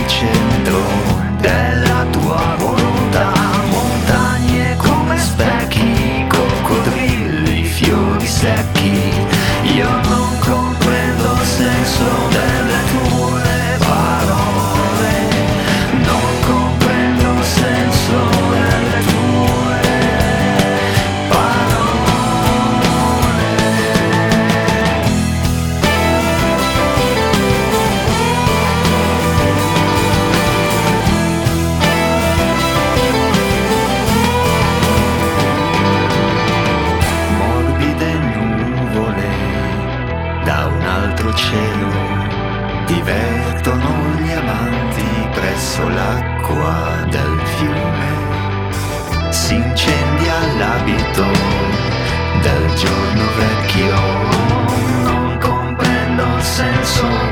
centro della tua volontà. Montagne come specchi, coccodrilli, fiori secchi. Io non comprendo il senso delle tue parole, non comprendo il senso delle tue parole. Morbide nuvole da un altro cielo divertono gli amanti presso l'acqua del fiume. Si incendia l'abito del giorno vecchio. Non comprendo il senso